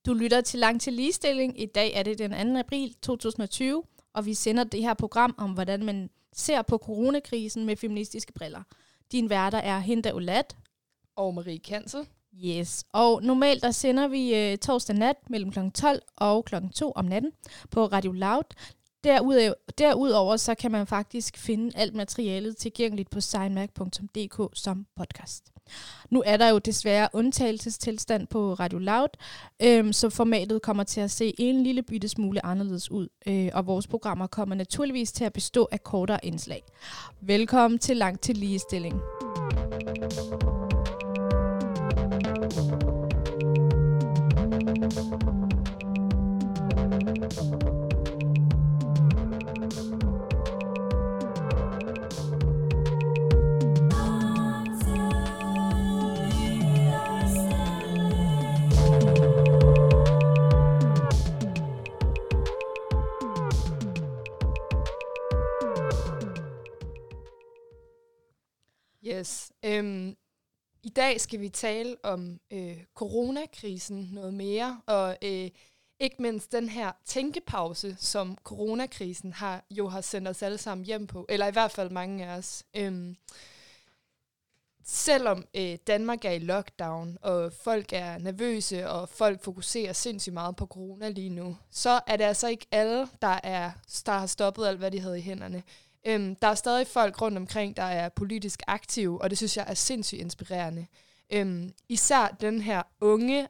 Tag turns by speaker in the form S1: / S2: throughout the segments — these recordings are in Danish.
S1: Du lytter til Langt til Ligestilling. I dag er det den 2. april 2020, og vi sender det her program om, hvordan man ser på coronakrisen med feministiske briller. Din værter er Hinda Olat
S2: og Marie Kansel.
S1: Yes, og normalt der sender vi torsdag nat mellem kl. 12 og kl. 2 om natten på Radio Loud. Derudover så kan man faktisk finde alt materialet tilgængeligt på signmag.dk som podcast. Nu er der jo desværre undtagelsestilstand på Radio Loud, så formatet kommer til at se en lille bitte smule anderledes ud, og vores programmer kommer naturligvis til at bestå af kortere indslag. Velkommen til Langt til Ligestilling.
S2: Yes. I dag skal vi tale om coronakrisen noget mere, og ikke mindst den her tænkepause, som coronakrisen har sendt os alle sammen hjem på, eller i hvert fald mange af os. Selvom Danmark er i lockdown, og folk er nervøse, og folk fokuserer sindssygt meget på corona lige nu, så er det altså ikke alle, der har stoppet alt, hvad de havde i hænderne. Der er stadig folk rundt omkring, der er politisk aktive, og det synes jeg er sindssygt inspirerende. Især den her unge,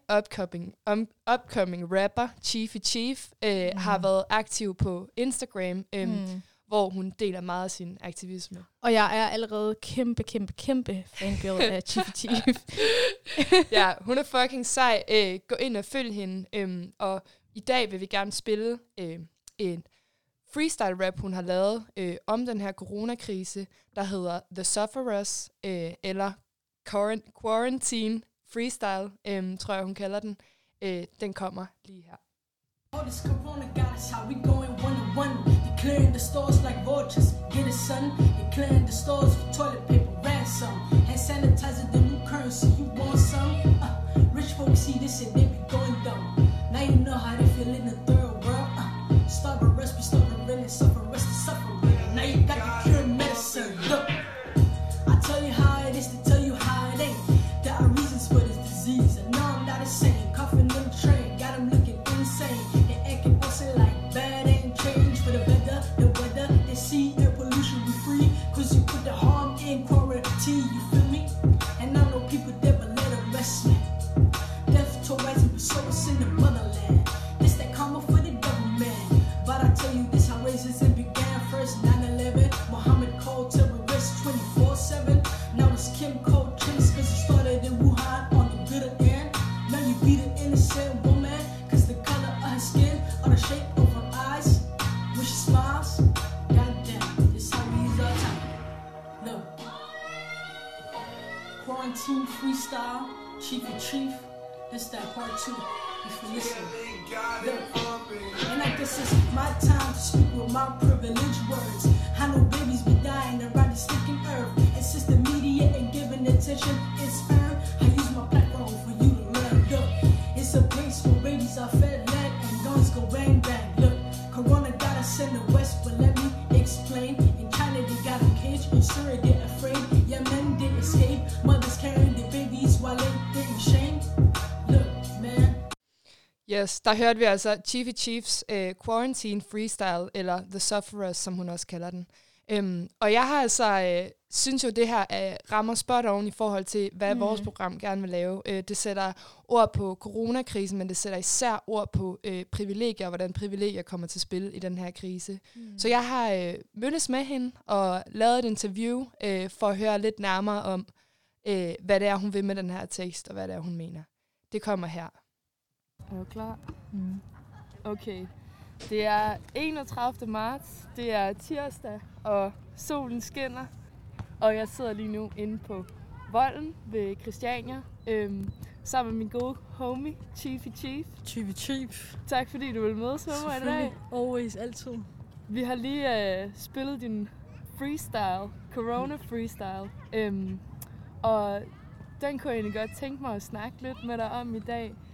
S2: upcoming rapper, Chiefy Chief, har været aktiv på Instagram, hvor hun deler meget af sin aktivisme.
S1: Og jeg er allerede kæmpe fangirl af Chiefy Chief.
S2: Ja, hun er fucking sej. Gå ind og følg hende. Og i dag vil vi gerne spille en freestyle rap, hun har lavet om den her coronakrise, der hedder The Sufferers, eller Quarantine Freestyle, tror jeg, hun kalder den. Den kommer lige her.
S3: All this corona got us how we going one-on-one. They clearing the stores like vultures. Get it, son. They clearing the stores for toilet paper, ransom. Hand sanitizer, the new currency. You want some? Rich folks see this and they be going dumb. Now you know how they feel in the third world. Starve a rest, be starving, really suffer, rest to suffer. Now you got the cure medicine. Look, I tell you how it is to tell you how it ain't. There are reasons for this disease, and no, I'm not insane. Coughing in the train, got them looking insane. They acting bustin' like bad ain't change for the weather. They see air pollution be free, cause you put the harm in quarantine, you feel me? And I know people there, but let them rest, man. Death to rising, but so it's in the motherland. This that karma for the government. But I tell you this, how racism began first, 9/11. Muhammad called terrorists 24/7. Now it's Kim called chase, cause it started in Wuhan on the bitter end. Now you beat an innocent woman, cause the color of her skin or the shape of her eyes. When she smiles, goddamn, this how we use our time. Look, quarantine freestyle, Chiefy Chief, this that part 2, if you listen. Look, and I guess it's my time to speak with my privileged words. I know babies be dying around the sticking earth, and since the media ain't giving attention, it's earned. I use my platform for you to learn. Look, it's a place where babies are fed lead and guns go bang bang. Look, Corona got us in the West, but let me explain. In China they got them caged, in Syria they're afraid. Yeah, men did escape, mothers carrying their babies while they getting shamed. Look, man.
S2: Yes, der hørte vi altså Chiefy Chiefs Quarantine Freestyle, eller The Sufferers, som hun også kalder den. Og jeg har altså, synes jo, det her rammer spot on i forhold til, hvad vores program gerne vil lave. Det sætter ord på coronakrisen, men det sætter især ord på privilegier, og hvordan privilegier kommer til spil i den her krise. Så jeg har mødtes med hende og lavet et interview for at høre lidt nærmere om, hvad det er, hun vil med den her tekst, og hvad det er, hun mener. Det kommer her.
S4: Er du klar? Okay. Det er 31. marts, det er tirsdag, og solen skinner. Og jeg sidder lige nu inde på Volden ved Christiania, sammen med min gode homie, Chiefy Chief.
S5: Chiefy Chief.
S4: Tak fordi du vil mødes med mig i dag.
S5: Always, altid.
S4: Vi har lige spillet din freestyle, Corona freestyle. Og den kunne jeg egentlig godt tænke mig at snakke lidt med dig om i dag.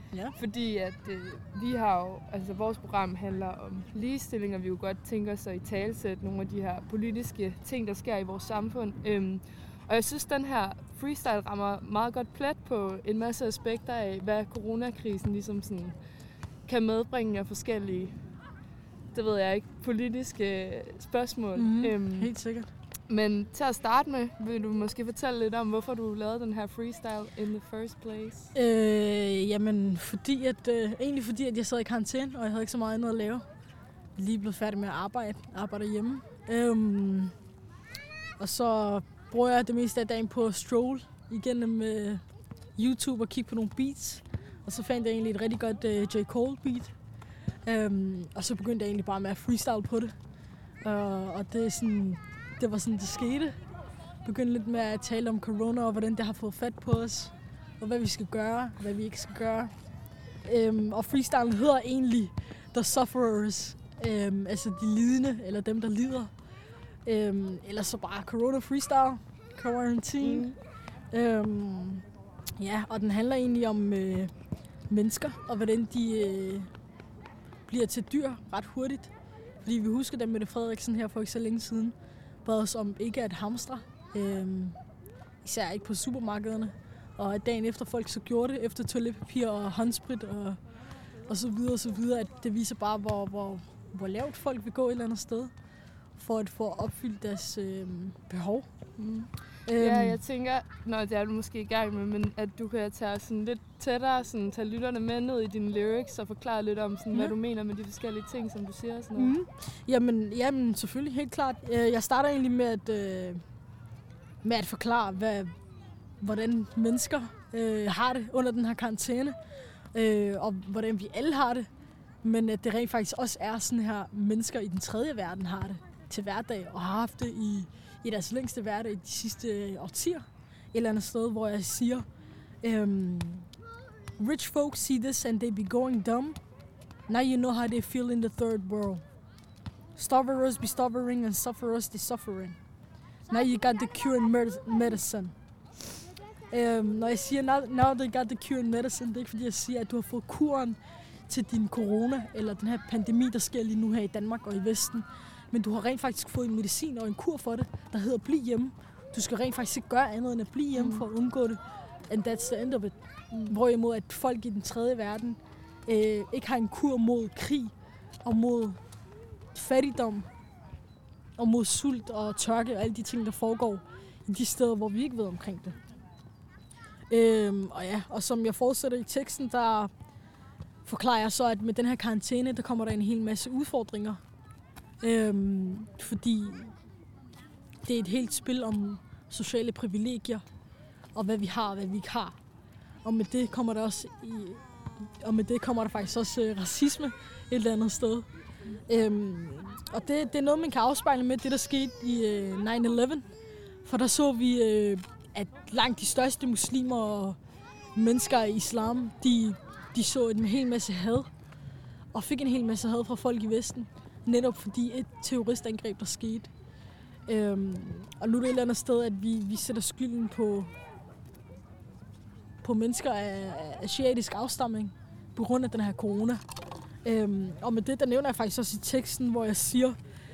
S5: Ja.
S4: Fordi at vi har jo, altså vores program handler om ligestilling, og vi jo godt tænker os at italesætte nogle af de her politiske ting, der sker i vores samfund. Og jeg synes, den her freestyle rammer meget godt plet på en masse aspekter af, hvad coronakrisen ligesom sådan kan medbringe af forskellige, det ved jeg ikke, politiske spørgsmål.
S5: Helt sikkert.
S4: Men til at starte med, vil du måske fortælle lidt om, hvorfor du lavede den her freestyle in the first place?
S5: Jamen, egentlig fordi, at jeg sad i karantæne, og jeg havde ikke så meget andet at lave. Jeg er lige blevet færdig med at arbejde hjemme. Og så bruger jeg det meste af dagen på at stroll igennem YouTube og kigge på nogle beats. Og så fandt jeg egentlig et rigtig godt J. Cole beat. Og så begyndte jeg egentlig bare med at freestyle på det. Og det var sådan, det skete. Begyndte lidt med at tale om corona og hvordan det har fået fat på os. Og hvad vi skal gøre, hvad vi ikke skal gøre. Og freestylen hedder egentlig The Sufferers. Altså de lidende, eller dem, der lider. Eller så bare Corona Freestyle. Quarantine. Ja, og den handler egentlig om mennesker, og hvordan de bliver til dyr ret hurtigt. Fordi vi husker, da Mette Frederiksen her for ikke så længe siden bad os om ikke at hamstre. Især ikke på supermarkederne. Og at dagen efter folk så gjorde det, efter toiletpapir og håndsprit og så videre, at det viser bare, hvor lavt folk vil gå et eller andet sted for at få opfyldt deres behov.
S4: Ja, jeg tænker, det er du måske i gang med, men at du kan tage sådan lidt tættere, sådan, tage lytterne med ned i dine lyrics og forklare lidt om, sådan, hvad du mener med de forskellige ting, som du siger. Sådan noget.
S5: Jamen, selvfølgelig, helt klart. Jeg starter egentlig med at forklare, hvordan mennesker har det under den her karantæne, og hvordan vi alle har det, men at det rent faktisk også er sådan her, mennesker i den tredje verden har det til hverdag, og har haft det i deres længste hverdag de sidste årtier. Et eller andet sted, hvor jeg siger, rich folks see this and they be going dumb. Now you know how they feel in the third world. Stufferers be suffering and sufferers they suffering. Now you got the cure and medicine. Når jeg siger, now they got the cure and medicine, det er ikke fordi jeg siger, at du har fået kuren til din corona, eller den her pandemi, der sker lige nu her i Danmark og i Vesten. Men du har rent faktisk fået en medicin og en kur for det, der hedder bliv hjemme. Du skal rent faktisk ikke gøre andet end at blive hjemme for at undgå det. And that's the end of it. Hvorimod at folk i den tredje verden ikke har en kur mod krig og mod fattigdom og mod sult og tørke og alle de ting, der foregår i de steder, hvor vi ikke ved omkring det. Og som jeg fortsætter i teksten, der forklarer jeg så, at med den her karantæne, der kommer der en hel masse udfordringer. Fordi det er et helt spil om sociale privilegier, og hvad vi har og hvad vi ikke har. Og med det kommer der faktisk også racisme et eller andet sted. Og det er noget, man kan afspejle med det, der skete i 9/11. For der så vi, at langt de største muslimer og mennesker i islam, de så en hel masse had, og fik en hel masse had fra folk i Vesten. Netop fordi et terroristangreb, der skete. Og nu er det et eller andet sted, at vi sætter skylden på mennesker af asiatisk afstamning på grund af den her corona. Og med det, der nævner jeg faktisk også i teksten, hvor jeg siger,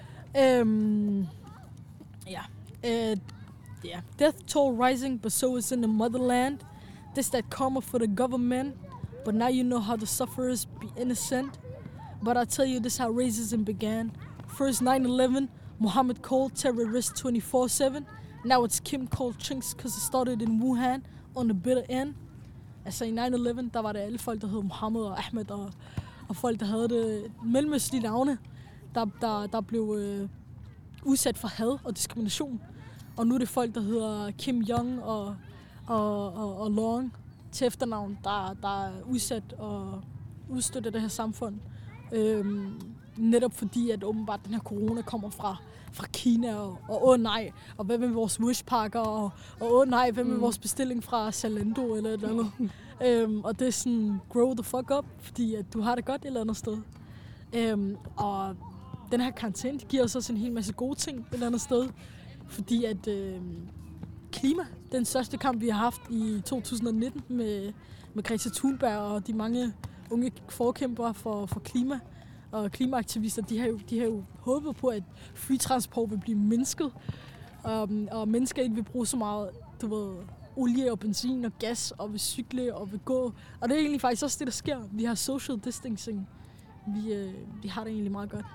S5: death toll rising, but so is in the motherland. This that karma for the government, but now you know how the sufferers be innocent. But I'll tell you this how racism began. First 9/11, Muhammad Cole, terrorist 24/7. Now it's Kim Cole Chinks, because it started in Wuhan on the bitter end. Altså i 9/11, der var det alle folk, der hed Mohammed og Ahmed, og folk, der havde det mellemøstlige navne, der blev udsat for had og diskrimination. Og nu er det folk, der hedder Kim Jong og Long til efternavn, der er udsat og udstødt af det her samfund. Netop fordi, at åbenbart den her corona kommer fra Kina, og nej, og hvad med vores wishpakker, og nej, hvad med vores bestilling fra Zalando eller et eller andet. Og det er sådan, grow the fuck up, fordi at du har det godt et eller andet sted. Og den her karantæne, det giver os også en hel masse gode ting et eller andet sted, fordi at klima, den største kamp, vi har haft i 2019 med med Greta Thunberg og de mange unge forkæmpere for klima og klimaaktivister, de har jo håbet på, at flytransport vil blive mindsket, og mennesker ikke vil bruge så meget, olie og benzin og gas og vil cykle og vil gå. Og det er egentlig faktisk også det, der sker. Vi har social distancing. Vi har det egentlig meget godt.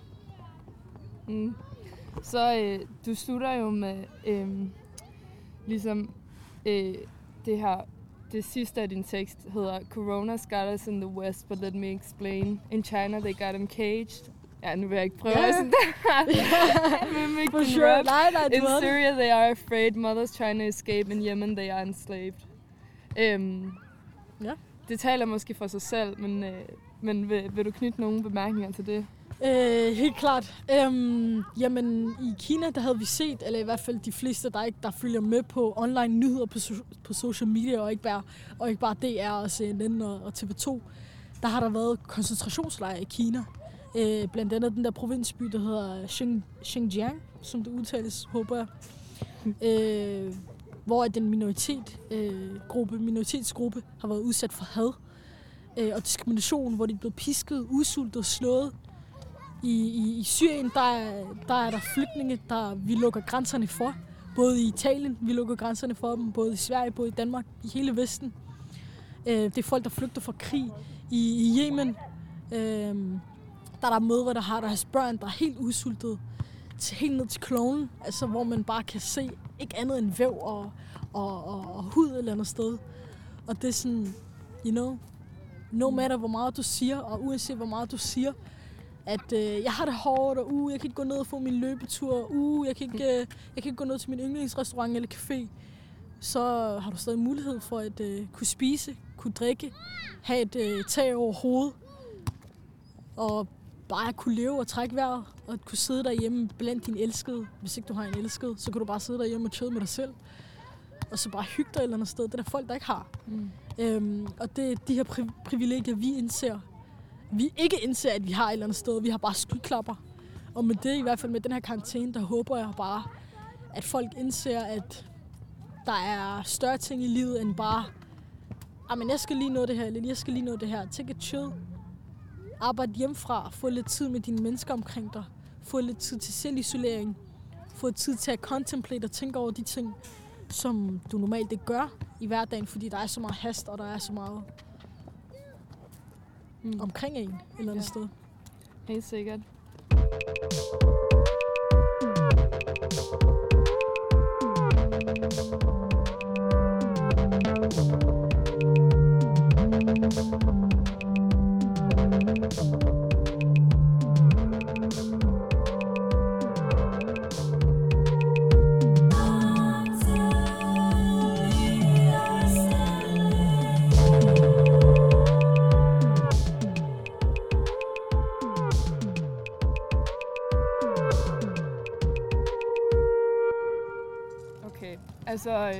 S4: Så du slutter jo med det her. Det sidste af din tekst hedder Corona's got us in the West, but let me explain. In China they got them caged. Ja, nu vil jeg ikke prøve sådan der.
S5: For sure. Nej,
S4: in Syria they are afraid. Mothers trying to escape. In Yemen they are enslaved. Det taler måske for sig selv, men vil du knytte nogle bemærkninger til det?
S5: Helt klart. Jamen, i Kina, der havde vi set, eller i hvert fald de fleste, der følger med på online nyheder på social media, og ikke bare DR og CNN og TV2, der har der været koncentrationslejre i Kina. Blandt andet den der provinsby, der hedder Xinjiang, som det udtales, håber jeg. Hvor den minoritetsgruppe har været udsat for had og diskrimination, hvor de er blevet pisket, udsultet og slået. I Syrien, der er der flygtninge, vi lukker grænserne for. Både i Italien, vi lukker grænserne for dem, både i Sverige, både i Danmark, i hele Vesten. Det er folk, der flygter fra krig. I Yemen, der er der mødre, der har deres børn, der er helt udsultet, helt ned til kloven, altså hvor man bare kan se ikke andet end væv og hud et eller andet sted. Og det er sådan, no matter hvor meget du siger, og uanset hvor meget du siger, at jeg har det hårdt, og jeg kan ikke gå ned og få min løbetur, jeg kan ikke gå ned til min yndlingsrestaurant eller café, så har du stadig mulighed for at kunne spise, kunne drikke, have et tag over hovedet, og bare kunne leve og trække vejret, og kunne sidde derhjemme blandt dine elskede. Hvis ikke du har en elskede, så kan du bare sidde derhjemme og chille med dig selv, og så bare hygge dig et eller andet sted. Det er der folk, der ikke har. Og det er de her privilegier, vi ikke indser, at vi har et eller andet sted. Vi har bare skyklapper. Og med det, i hvert fald med den her karantæne, der håber jeg bare, at folk indser, at der er større ting i livet end bare, men jeg skal lige nå det her, eller jeg skal lige nå det her. Take a chill. Arbejde hjemmefra. Få lidt tid med dine mennesker omkring dig. Få lidt tid til selvisolering. Få tid til at contemplate og tænke over de ting, som du normalt ikke gør i hverdagen, fordi der er så meget hast, og der er så meget omkring en et eller andet sted.
S4: Helt sikkert. Altså,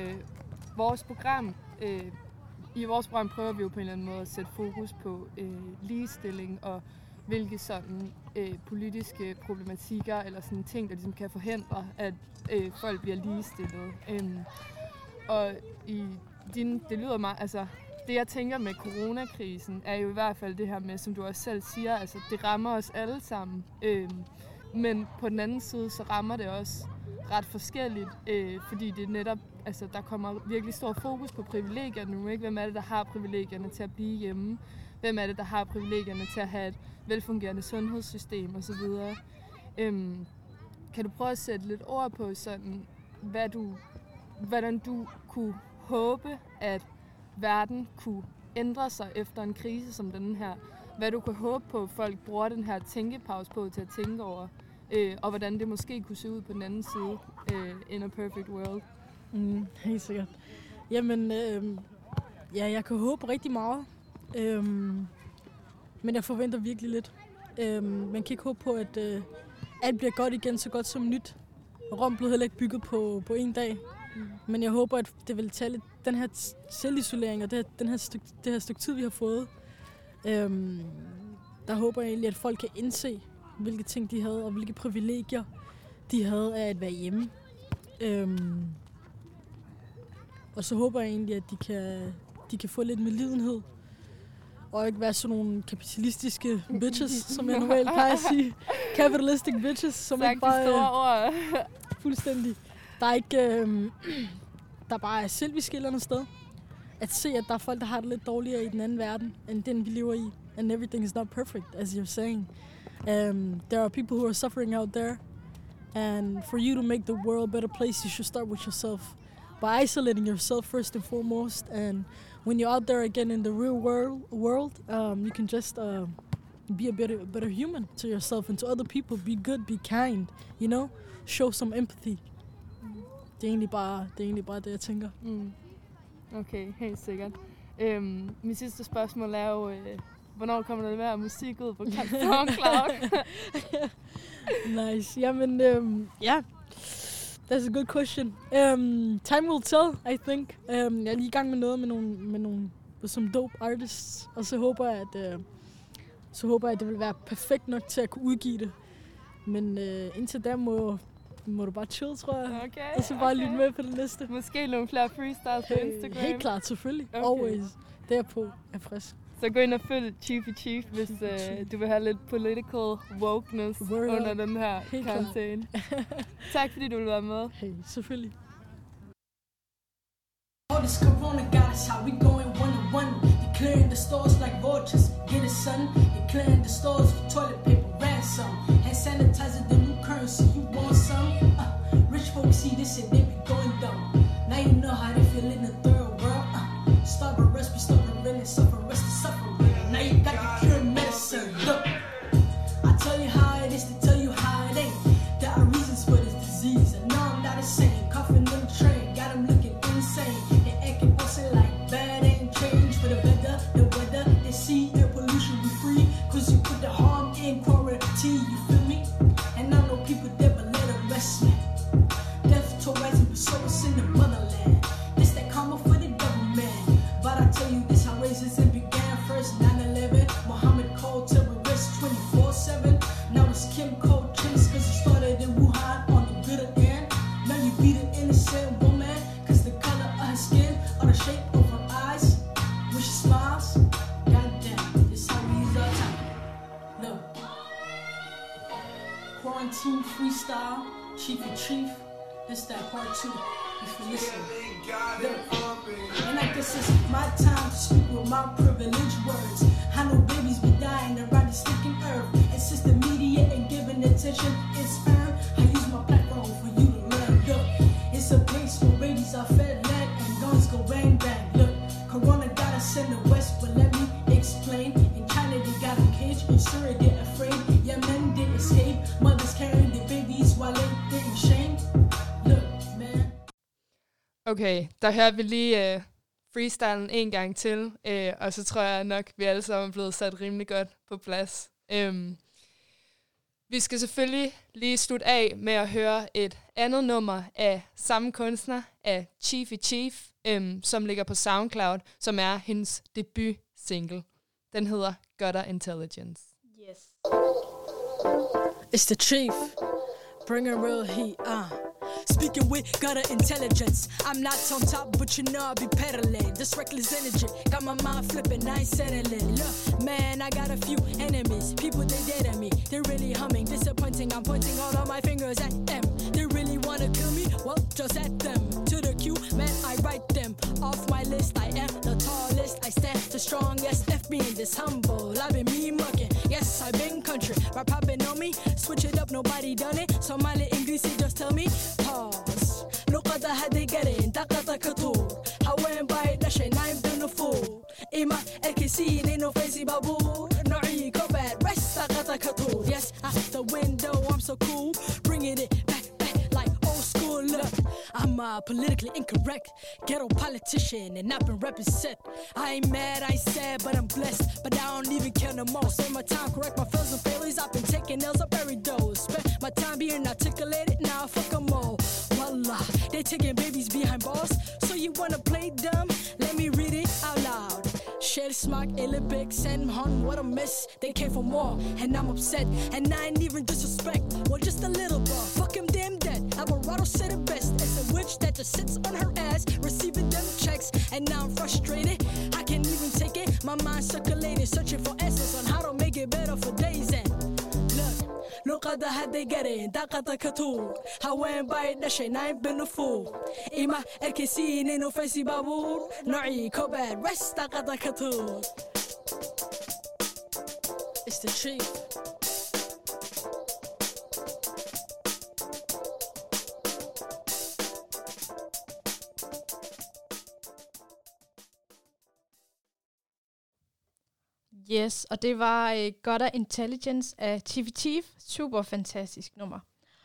S4: i vores program prøver vi jo på en eller anden måde at sætte fokus på ligestilling og hvilke sådan politiske problematikker eller sådan ting, der ligesom kan forhindre, at folk bliver ligestillet. Og det lyder meget, altså det jeg tænker med coronakrisen er jo i hvert fald det her med, som du også selv siger, altså det rammer os alle sammen. Men på den anden side, så rammer det også ret forskelligt, fordi det netop, altså der kommer virkelig stor fokus på privilegierne nu, ikke? Hvem er det, der har privilegierne til at blive hjemme? Hvem er det, der har privilegierne til at have et velfungerende sundhedssystem osv.? Kan du prøve at sætte lidt ord på sådan, hvordan du kunne håbe, at verden kunne ændre sig efter en krise som den her? Hvad du kunne håbe på, at folk bruger den her tænkepause på til at tænke over? Og hvordan det måske kunne se ud på den anden side in a perfect world.
S5: Helt sikkert. Jamen, jeg kan håbe rigtig meget. Men jeg forventer virkelig lidt. Man kan ikke håbe på, at alt bliver godt igen, så godt som nyt. Rom blev heller ikke bygget på en dag. Men jeg håber, at det vil tage lidt den her selvisolering og det her stykke tid, vi har fået. Der håber jeg egentlig, at folk kan indse, hvilke ting de havde, og hvilke privilegier de havde af at være hjemme. Og så håber jeg egentlig, at de kan de kan få lidt medlidenhed. Og ikke være sådan nogle kapitalistiske bitches, som jeg normalt plejer at sige. Capitalistic bitches, som ikke bare...
S4: store ord.
S5: Fuldstændig. Der er ikke... der bare er selvisk et eller andet sted. At se, at der er folk, der har det lidt dårligere i den anden verden, end den vi lever i. And everything is not perfect, as you're saying. There are people who are suffering out there. And for you to make the world a better place, you should start with yourself. By isolating yourself first and foremost. And when you're out there again in the real world, you can just be a better human to yourself and to other people. Be good, be kind, you know? Show some empathy. Det er egentlig bare det, jeg tænker.
S4: Okay, helt sikkert. Min sidste spørgsmål er jo, hvornår kommer der mere musik ud på SoundCloud?
S5: Nice. Jamen, yeah. That's a good question. Time will tell, I think. Jeg er lige i gang med noget med nogle some dope artists, og så håber jeg, at det vil være perfekt nok til at kunne udgive det. Men indtil da må du bare chill, tror jeg.
S4: Okay,
S5: og så bare lytte med på det næste.
S4: Måske nogle flere freestyles på Instagram.
S5: Helt klart, selvfølgelig.
S4: Okay.
S5: Always. Derpå er frisk.
S4: Så gå ind og følg Chief, hvis du vil have lidt political wokeness under den her karantæne. Tak fordi du ville være med.
S5: Hey, selvfølgelig.
S3: All this corona got us how we going one-on-one. They clearing the stores like vultures. Get it, son. They clearing the stores for toilet paper, ransom. Hand sanitizer, the new currency. You want some? Rich folks see this and they be going dumb. Now you know how they feel in the third world. Starve rest, be starving, really suffer, rest is suffering. Now you got the cure medicine. Look, I tell you how it is to tell you how it ain't. There are reasons for this disease, and no, I'm not insane. Coughing in the train, got them looking insane. They acting also like bad ain't change for the weather. They see air pollution be free, cause you put the harm in quarantine, you feel me? And I know people there, but let them rest, man. Death to rising, but so it's in the motherland. This that karma for the government. But I tell you this, how racism began first, 9/11. Muhammad called terrorists 24/7. Now it's Kim Cold Chase, cause it started in Wuhan on the bitter end. Now you beat an innocent woman, cause the color of her skin or the shape of her eyes. When she smiles, goddamn, this how we use our time. Look, quarantine freestyle, chief and chief. This that part 2, if you listen. Look, and I guess it's my time to speak with my privileged words. I know babies be dying around the sticking earth. And since the media ain't giving attention, it's earned. I use my platform for you to learn. Look, it's a place where babies are fed lead and guns go bang bang. Look, Corona got us in the West, but let me explain. In China they got a cage, in Syria they're afraid. Yeah, men they escape, mothers carrying their babies while they in shame. Look, man.
S2: Okay, der hører vi lige freestylen en gang til, og så tror jeg nok, vi alle sammen er blevet sat rimelig godt på plads. Vi skal selvfølgelig lige slutte af med at høre et andet nummer af samme kunstner, af Chief, som ligger på SoundCloud, som er hendes debut single. Den hedder Gutter Intelligence.
S5: Yes. It's the Chief. Bring a real heat,
S6: Speaking with gutter intelligence. I'm not on top, but you know I'll be peddling. This reckless energy got my mind flipping, I ain't settling. Look, man, I got a few enemies. People, they dead at me. They're really humming, disappointing. I'm pointing all of my fingers at them. They really wanna kill me? Well, just at them. To the queue, man, I write them off my list. I am the tallest, I stand the strongest. F being this humble, I've been me mucking. Yes, I've been country, rap popping on me. Switch it up, nobody done it. Somali English, just tell me. Pause. نقطة هذه قرين دقة كطور حوين بايد نشين نايم بنفور إما الكسين إنه فيزي بابور نوعي كوباد رست دقة كطور. Yes, out the window, I'm so cool. Bringing it back like old school. Look, I'm politically incorrect ghetto politician and I've been represent. I ain't mad, I ain't sad, but I'm blessed. But I don't even care no more. Spend my time, correct my feelings and failures. I've been taking L's, I buried those. Spend my time being articulated, now fuck them all. Wallah, they taking babies behind bars. So you wanna play dumb? Let me read it out loud. Shell smack, Illibig, send hun, what a mess. They came for more, and I'm upset. And I ain't even disrespect, well just a little bit. Fuck him, damn that. Alvarado said it best. It's a witch that just sits on her ass, receiving them checks. And now I'm frustrated, I can't even take it. My mind circulating, searching for answers on how to make it better for days. And look, luqada hadday gareen daaqada ka tuur haween bay dhashay nayn binu fuur ima erkaysiin inuu faysi baabuur noocii kobaad west daaqada ka tuur. It's the chief.
S1: Yes, og det var Gutter Intelligence af Chiefy Chief. Super fantastisk nummer.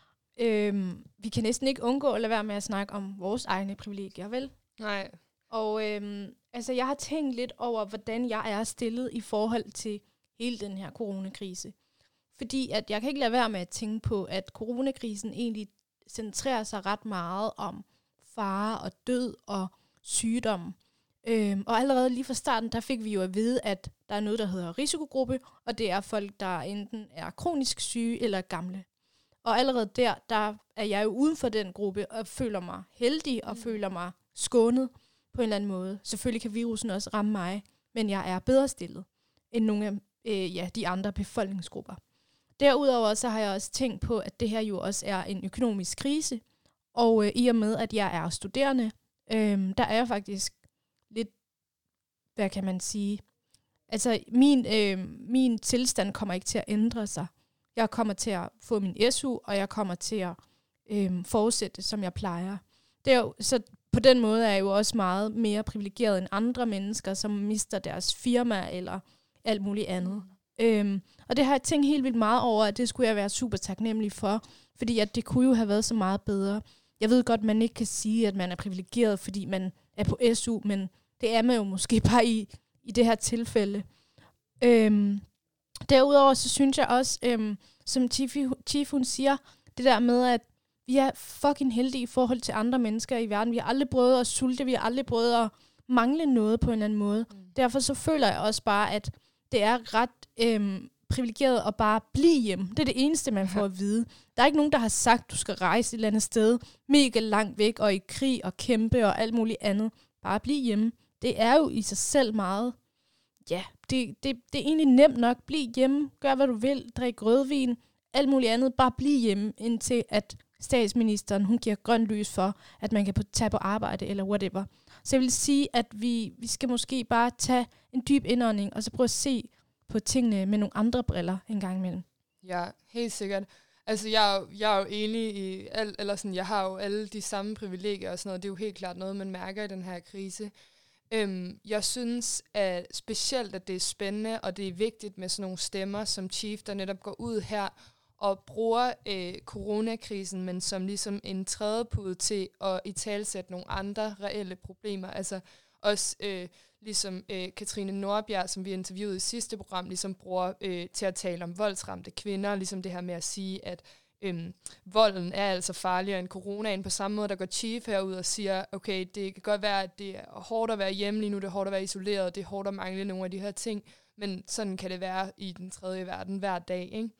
S1: Vi kan næsten ikke undgå at lade være med at snakke om vores egne privilegier, vel?
S2: Nej.
S1: Og altså, jeg har tænkt lidt over, hvordan jeg er stillet i forhold til hele den her coronakrise. Fordi at jeg kan ikke lade være med at tænke på, at coronakrisen egentlig centrerer sig ret meget om fare og død og sygdom. Og allerede lige fra starten, der fik vi jo at vide, at der er noget, der hedder risikogruppe, og det er folk, der enten er kronisk syge eller gamle. Og allerede der er jeg jo uden for den gruppe, og føler mig heldig, og føler mig skånet på en eller anden måde. Selvfølgelig kan virusen også ramme mig, men jeg er bedre stillet end nogle af de andre befolkningsgrupper. Derudover så har jeg også tænkt på, at det her jo også er en økonomisk krise, og i og med, at jeg er studerende, der er jeg faktisk lidt, hvad kan man sige, altså min tilstand kommer ikke til at ændre sig. Jeg kommer til at få min SU, og jeg kommer til at fortsætte, som jeg plejer. Det er jo, så på den måde er jeg jo også meget mere privilegeret end andre mennesker, som mister deres firma eller alt muligt andet. Og det har jeg tænkt helt vildt meget over, at det skulle jeg være super taknemmelig for, fordi at det kunne jo have været så meget bedre. Jeg ved godt, man ikke kan sige, at man er privilegeret, fordi man er på SU, men det er man jo måske bare i det her tilfælde. Derudover så synes jeg også, som Chief hun siger, det der med, at vi er fucking heldige i forhold til andre mennesker i verden. Vi har aldrig prøvet at sulte, vi har aldrig prøvet at mangle noget på en eller anden måde. Derfor så føler jeg også bare, at det er ret privilegeret at bare blive hjemme. Det er det eneste, man får at vide. Der er ikke nogen, der har sagt, at du skal rejse et eller andet sted, mega langt væk, og i krig og kæmpe og alt muligt andet. Bare blive hjemme. Det er jo i sig selv meget, ja, det er egentlig nemt nok. Bliv hjemme, gør hvad du vil, drik rødvin, alt muligt andet. Bare bliv hjemme, indtil at statsministeren, hun giver grønt lys for, at man kan tage på arbejde eller whatever. Så jeg vil sige, at vi skal måske bare tage en dyb indånding, og så prøve at se på tingene med nogle andre briller en gang imellem.
S2: Ja, helt sikkert. Altså, jeg er jo enig i alt, eller sådan, jeg har jo alle de samme privilegier og sådan noget. Det er jo helt klart noget, man mærker i den her krise. Jeg synes at specielt, at det er spændende, og det er vigtigt med sådan nogle stemmer som Chief, der netop går ud her og bruger coronakrisen, men som ligesom en trædepude til at italesætte nogle andre reelle problemer. Altså også ligesom Katrine Nordbjerg, som vi interviewede i sidste program, ligesom bruger til at tale om voldsramte kvinder, ligesom det her med at sige, at volden er altså farligere end coronaen. På samme måde, der går Chief herud og siger, okay, det kan godt være, at det er hårdt at være hjemme lige nu, det er hårdt at være isoleret, det er hårdt at mangle nogle af de her ting, men sådan kan det være i den tredje verden hver dag, ikke?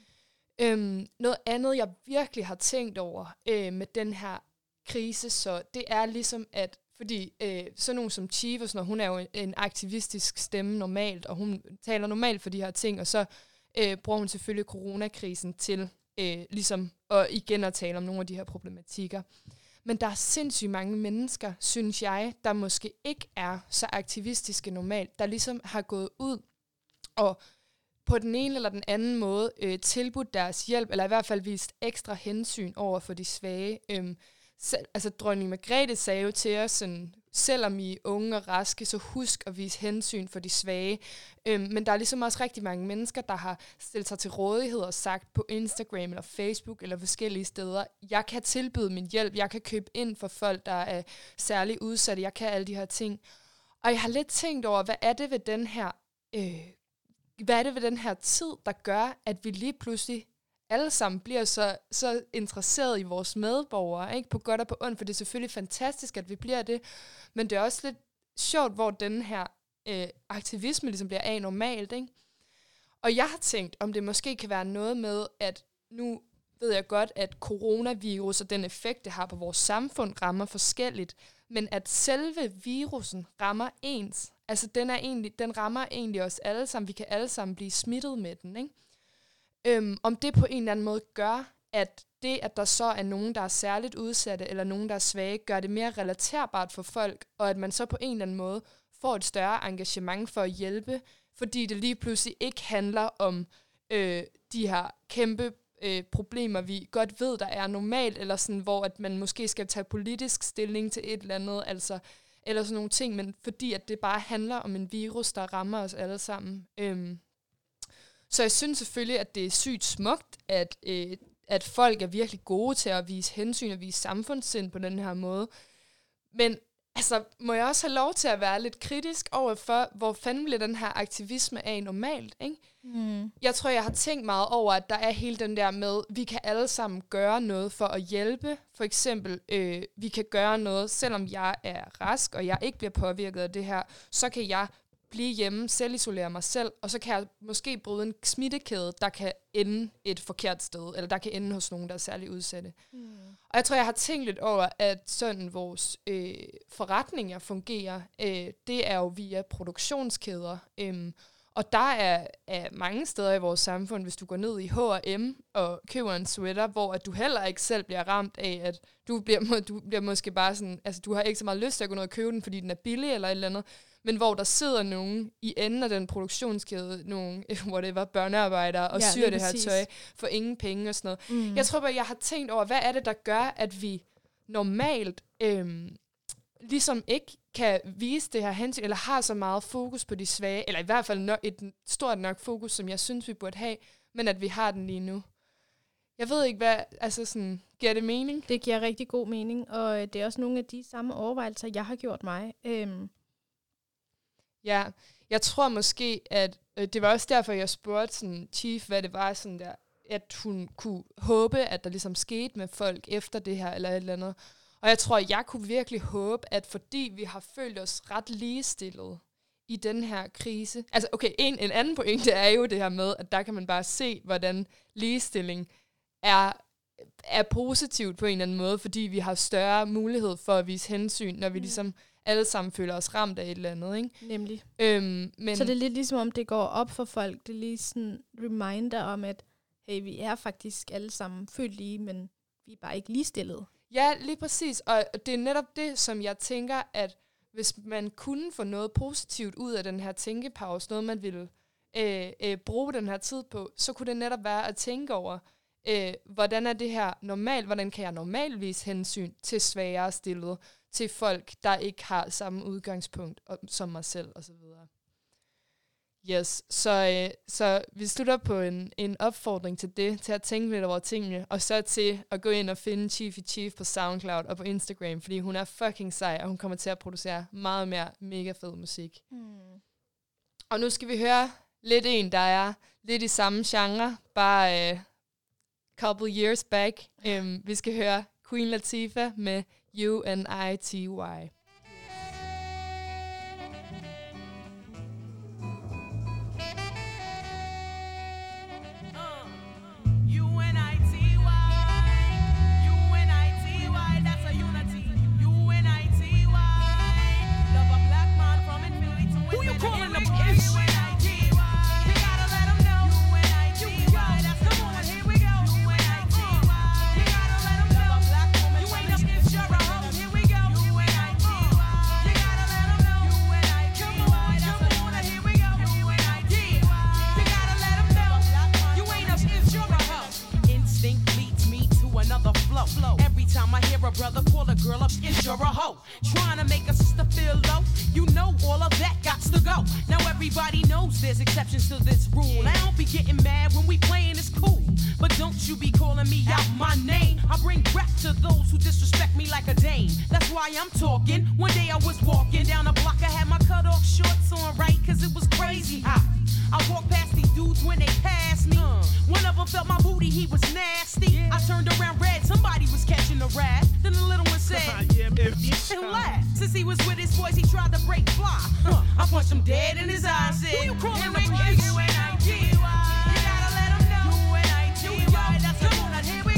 S2: Noget andet, jeg virkelig har tænkt over med den her krise, så det er ligesom, at fordi sådan nogen som Chief og sådan noget, hun er jo en aktivistisk stemme normalt, og hun taler normalt for de her ting, og så bruger hun selvfølgelig coronakrisen til ligesom igen at tale om nogle af de her problematikker. Men der er sindssygt mange mennesker, synes jeg, der måske ikke er så aktivistiske normalt, der ligesom har gået ud og på den ene eller den anden måde tilbudt deres hjælp, eller i hvert fald vist ekstra hensyn over for de svage. Altså dronning Margrethe sagde jo til os, sådan, selvom I er unge og raske, så husk at vise hensyn for de svage. Men der er ligesom også rigtig mange mennesker, der har stillet sig til rådighed og sagt på Instagram eller Facebook eller forskellige steder, jeg kan tilbyde min hjælp, jeg kan købe ind for folk, der er særligt udsatte, jeg kan alle de her ting. Og jeg har lidt tænkt over, hvad er det ved den her tid, der gør, at vi lige pludselig alle sammen bliver så interesseret i vores medborgere, ikke? På godt og på ondt, for det er selvfølgelig fantastisk, at vi bliver det, men det er også lidt sjovt, hvor den her aktivisme ligesom bliver anormalt, ikke? Og jeg har tænkt, om det måske kan være noget med, at nu ved jeg godt, at coronavirus og den effekt, det har på vores samfund, rammer forskelligt. Men at selve virusen rammer ens. Altså, den rammer egentlig os alle sammen. Vi kan alle sammen blive smittet med den, ikke? Om det på en eller anden måde gør, at det, at der så er nogen, der er særligt udsatte, eller nogen, der er svage, gør det mere relaterbart for folk, og at man så på en eller anden måde får et større engagement for at hjælpe, fordi det lige pludselig ikke handler om de her kæmpe problemer, vi godt ved, der er normalt, eller sådan, hvor at man måske skal tage politisk stilling til et eller andet, altså, eller sådan nogle ting, men fordi at det bare handler om en virus, der rammer os alle sammen. Så jeg synes selvfølgelig, at det er sygt smukt, at folk er virkelig gode til at vise hensyn og vise samfundssind på den her måde. Men altså, må jeg også have lov til at være lidt kritisk overfor, hvor fanden bliver den her aktivisme af normalt, ikke? Jeg tror, jeg har tænkt meget over, at der er hele den der med, vi kan alle sammen gøre noget for at hjælpe. For eksempel, vi kan gøre noget, selvom jeg er rask, og jeg ikke bliver påvirket af det her, så kan jeg blive hjemme, selvisolere mig selv, og så kan jeg måske bryde en smittekæde, der kan ende et forkert sted, eller der kan ende hos nogen, der er særligt udsatte. Og jeg tror, jeg har tænkt lidt over, at sådan vores forretninger fungerer, det er jo via produktionskæder. Og der er mange steder i vores samfund, hvis du går ned i H&M og køber en sweater, hvor at du heller ikke selv bliver ramt af, at du bliver måske bare sådan, altså du har ikke så meget lyst til at gå ned og købe den, fordi den er billig eller et eller andet, men hvor der sidder nogen i enden af den produktionskæde, nogle whatever, børnearbejdere, og syr det her tøj for ingen penge og sådan noget. Jeg tror bare, jeg har tænkt over, hvad er det, der gør, at vi normalt ligesom ikke kan vise det her hensyn, eller har så meget fokus på de svage, eller i hvert fald et stort nok fokus, som jeg synes, vi burde have, men at vi har den lige nu. Jeg ved ikke, hvad, altså sådan, giver det mening?
S1: Det giver rigtig god mening, og det er også nogle af de samme overvejelser, jeg har gjort mig.
S2: Ja, jeg tror måske, at det var også derfor, jeg spurgte sådan, Chief, hvad det var, sådan der, at hun kunne håbe, at der ligesom skete med folk efter det her, eller et eller andet. Og jeg tror, jeg kunne virkelig håbe, at fordi vi har følt os ret ligestillet i den her krise. Altså, okay, en anden pointe er jo det her med, at der kan man bare se, hvordan ligestilling er positivt på en eller anden måde, fordi vi har større mulighed for at vise hensyn, når vi ligesom alle sammen føler os ramt af et eller andet, ikke?
S1: Nemlig.
S2: Men
S1: så det er lidt ligesom, om det går op for folk. Det er lige sådan en reminder om, at hey, vi er faktisk alle sammen født lige, men vi er bare ikke ligestillede.
S2: Ja, lige præcis. Og det er netop det, som jeg tænker, at hvis man kunne få noget positivt ud af den her tænkepause, noget man ville bruge den her tid på, så kunne det netop være at tænke over, hvordan er det her normalt? Hvordan kan jeg normalt vise hensyn til svagere stillede, til folk, der ikke har samme udgangspunkt som mig selv, og så videre. Yes, så vi slutter på en opfordring til det, til at tænke lidt over tingene, og så til at gå ind og finde Chief på SoundCloud og på Instagram, fordi hun er fucking sej, og hun kommer til at producere meget mere mega fed musik. Og nu skal vi høre lidt en, der er lidt i samme genre, bare couple years back. Vi skal høre Queen Latifah med UNITY.
S7: Every time I hear a brother call a girl up, is you're a hoe. Trying to make a sister feel low. You know all of that got to go. Now everybody knows there's exceptions to this rule. I don't be getting mad when we playing, it's cool. But don't you be calling me out my name. I bring rap to those who disrespect me like a dame. That's why I'm talking. One day I was walking down the block, I had my cut off shorts on, right? Cause it was crazy hot. I walked past these dudes when they passed me. One of them felt my booty, he was nasty. I turned around red, somebody was catching a rat. Then the little one said, and laughed. Since he was with his boys, he tried to break fly. I punched him dead in his eyes, said, who you calling UNITY? You gotta let him know. UNITY, that's the one. Here we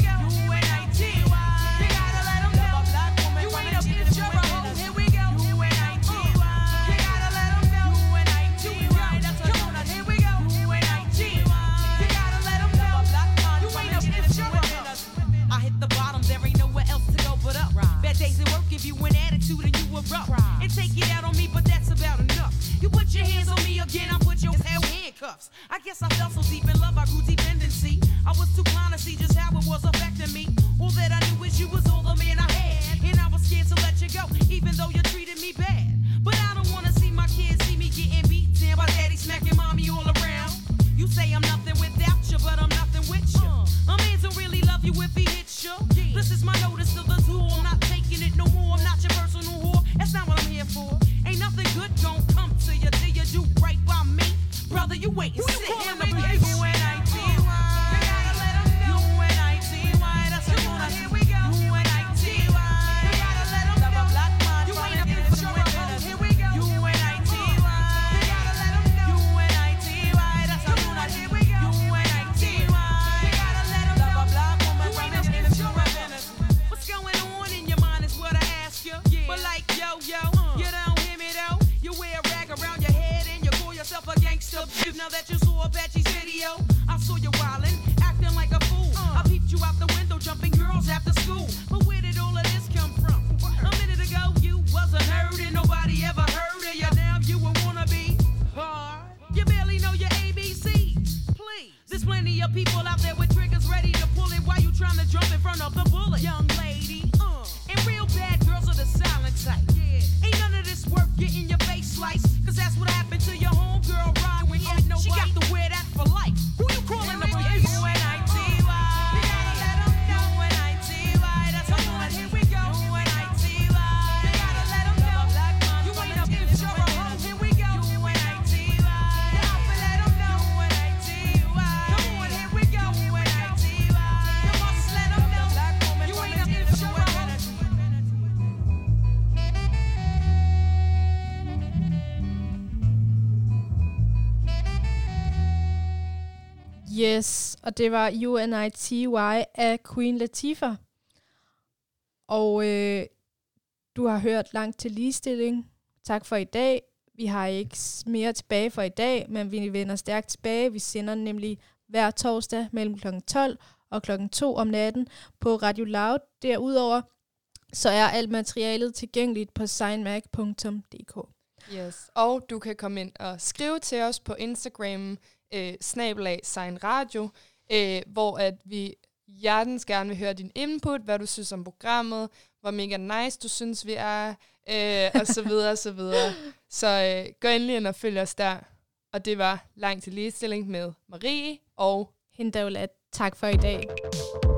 S7: handcuffs. I guess I fell so deep in love, I grew dependency. I was too blind to see just how it was affecting me. All that I knew is you was all the man I had, and I was scared to let you go, even though you treated me bad. But I don't wanna see my kids see me getting beat down by daddy smacking mommy all around. You say I'm nothing without you, but I'm nothing with you. A man don't really love you if he hits you. This is my notice to the zoo. I'm not taking it no more. I'm not your personal whore. That's not what I'm here for. Ain't nothing good gon' come to you till you do right by me. Brother, you wait and sit here and behave. Now that you saw Apache's video, I saw you wildin', acting like a fool. I peeped you out the window, jumping girls after school. But where did all of this come from? A minute ago, you wasn't heard and nobody ever heard of you. Now you a wannabe hard. You barely know your ABCs. Please, there's plenty of people out there with triggers ready to pull it while you trying to jump in front of the bullet. Young lady, and real bad girls are the silent type. Yeah. Ain't none of this worth getting your face sliced, cause that's what happened to your homegirl Ryan. She got to wear that for life. Who you calling the police? UNITY. You gotta let them know. UNITY. That's how you want. Here we go. UNITY. You gotta let them know. You ain't up if you're a hoe. Here we go. UNITY. You gotta let them know. UNITY. Come on, here we go. UNITY. You must let them know. You ain't up if you're a hoe.
S1: Yes, og det var UNITY af Queen Latifah. Og du har hørt Langt til ligestilling. Tak for i dag. Vi har ikke mere tilbage for i dag, men vi vender stærkt tilbage. Vi sender nemlig hver torsdag mellem kl. 12 og kl. 2 om natten på Radio Loud. Derudover så er alt materialet tilgængeligt på signmag.dk.
S2: Yes, og du kan komme ind og skrive til os på Instagram, @signradio, hvor at vi hjertens gerne vil høre din input, hvad du synes om programmet, hvor mega nice du synes vi er, og så videre, og så videre. Så gå endelig ind og følg os der. Og det var Langt til ligestilling med Marie og
S1: Hindaulat. Tak for i dag.